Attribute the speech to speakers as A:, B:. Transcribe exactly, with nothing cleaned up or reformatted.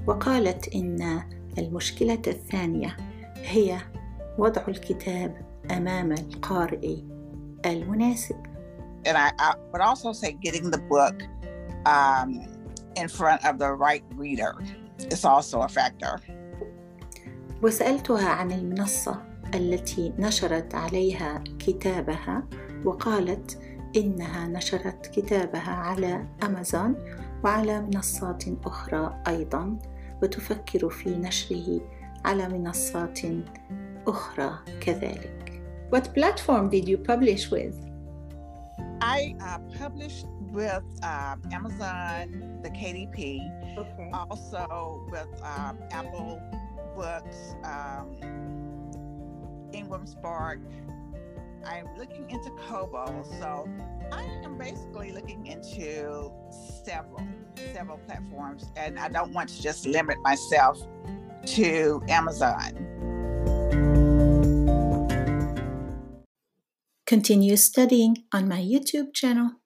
A: وقالت إن المشكلة الثانية هي وضع الكتاب أمام القارئ المناسب.
B: And I, I would also say getting the book um, in front of the right reader is also a factor.
A: وسألتها عن المنصة التي نشرت عليها كتابها، وقالت إنها نشرت كتابها على أمازون وعلى منصات أخرى أيضاً، وتفكر في نشره على منصات أخرى كذلك. What platform did you publish with?
B: I uh, published with uh, Amazon, the K D P,
A: okay.
B: also with um, Apple Books, um, Ingram Spark. I'm looking into Kobo, so I am basically looking into several, several platforms, and I don't want to just limit myself to Amazon.
A: Continue studying on my YouTube channel.